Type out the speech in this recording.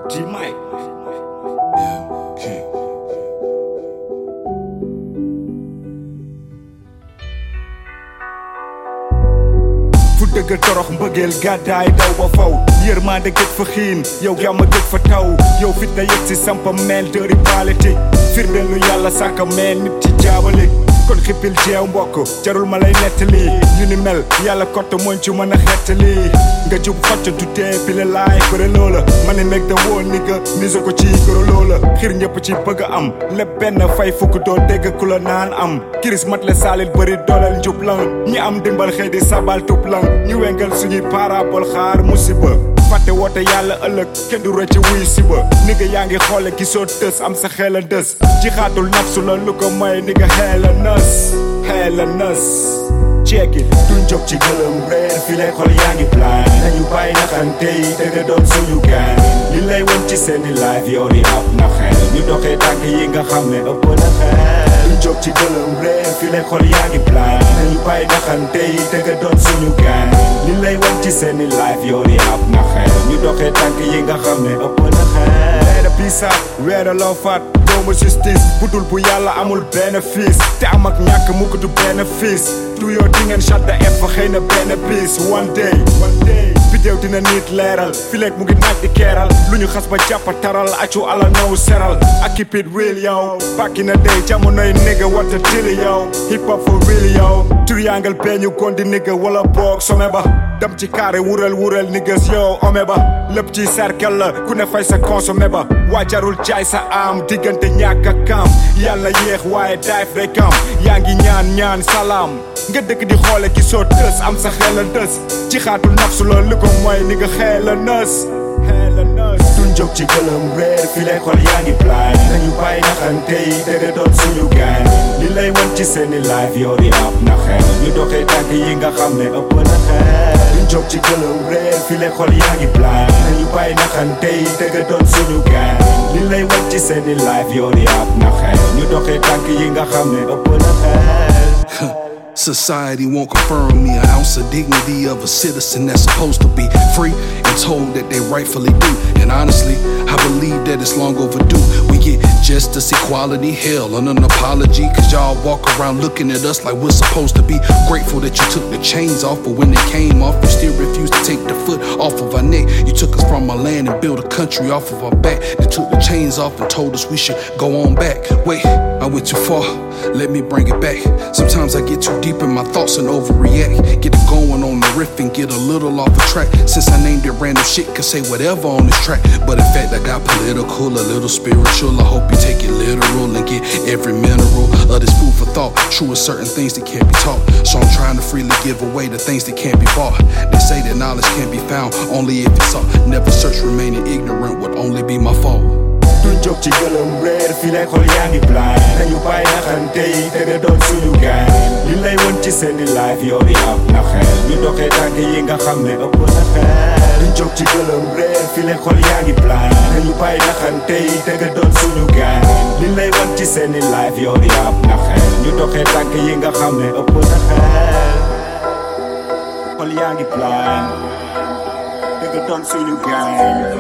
G-Mike. Yeah, king. fu dëgg torox mbëggeel gàddaay daw ba faw yërmande gëj fa xiin yow jàmm gëj fa taw yow fit na yëg si sampa meel dëri politique firndeel lu yàlla sàkka meel nit ci jaabale kon xippil jeew mbokk jarul ma lay nettali ñu ni mel yàlla kott mooñ ci mën a xettali nga jub xocc tutee pile laay bëre loola ma ne meg da woon ni nga mise ko ci goro loola xir ñëpp ci bëgg a am lépp benn fay fukk doo dégg ku la naan am kiris mat le saalit bëri dooleel njub lang ñi am dimbal xëy di sabal tub lang ñu wengal suñuy parabol xaar musiba fàtte woote yàlla ëllëg kenn du rëcc wuy siba ni nga yaa ngi xoole gisoo tës am sa xel a dës ci xaatul nafsu la lu ko may ni nga xeel a nës ceeki duñ jóg ci gëlëm reer fi lay xol yaa ngi plan nañu bàyyi naxante yi te nga doon suñu gaan li lay won ci seeni live yow di ab na xel ñu doxee tànk yi nga xam ne ëpp na xel duñ jóg ci gëlëm reer fi lay xol yaa ngi plan nañu bàyyi naxante yi te nga doon suñu gaan li lay won ci seeni live yow di ab na xel ñu doxee tànk yi nga xam ne ëpp na xel pisa weera loo faat doomu justice budul bu yàlla amul bénéfice te am ak ñàkk mukk du bénéfice du yoo di ngeen chatta fa xëy na benn bis one day bidéew dina nit leeral fileeg mu ngi naaj di keeral lu ñu xas ba jàppa taral accu ala now seral ak keep it real yow back in the day jamonoy nigga wata dili yow hip hop for real yow triangle beñu gondi nigga wala boog some ba dem ci carré wural niggas yow ome ba lépp ci cercle la ku ne fay sa consommé ba waajarul jaay sa am diggante ñàkk ak kam yàlla yéex waaye daif day kam yaa ngi ñaan salaam nga dëkk di xoole gisoo tës am sa xel a dës ci xaatul nafsu la li ko mooy ni nga xeel a nës duñ jóg ci gëlëm reer fi lay xol yaa ngi plan nañu bàyyi naxante yi te nga doon suñu gaan li lay won ci seeni live yow di ab na xel ñu doxee tànk yi nga xam ne ëpp na xel duñ jóg ci gëlëm reer fi lay xol yaa ngi plan nañu bàyyi naxante yi te nga doon suñu gaan li lay won ci seeni live yow di ab na xel ñu doxee tànk yi nga xam ne ëpp na xel Society won't confirm me an ounce of dignity of a citizen that's supposed to be free and told that they rightfully do. And honestly, I believe that it's long overdue. We get justice, equality, hell, and an apology. Cause y'all walk around looking at us like we're supposed to be grateful that you took the chains off. But when they came off, you still refused to take the foot off of our neck. You took us from our land and built a country off of our back. They took the chains off and told us we should go on back. Wait, I went too far, let me bring it back. Sometimes I get too deep in my thoughts and overreact. Get it going on the riff and get a little off the track. Since I named it random shit, can say whatever on this track. But in fact, I got political, a little spiritual. I hope you take it literal and get every mineral of this food for thought. True is certain things that can't be taught. So I'm trying to freely give away the things that can't be bought. They say that knowledge can't be found only if it's sought. Never search remaining ignorant would only be my fault. duñ jóg ci gëlëm reer fi lay xol yaa ngi plan nañu bàyyi naxante yi te nga doon suñu gaan li lay won ci seeni live yow di ab na xel ñu doxee tànk yi nga xam ne ëpp na xel duñ jóg ci gëlëm reer fi lay xol yaa ngi plan nañu bàyyi naxante yi te nga doon suñu gaan li lay won ci seeni live yow di ab na xel ñu doxee tànk yi nga xam ne ëpp na xel xol yaa ngi plan te nga doon suñu gaan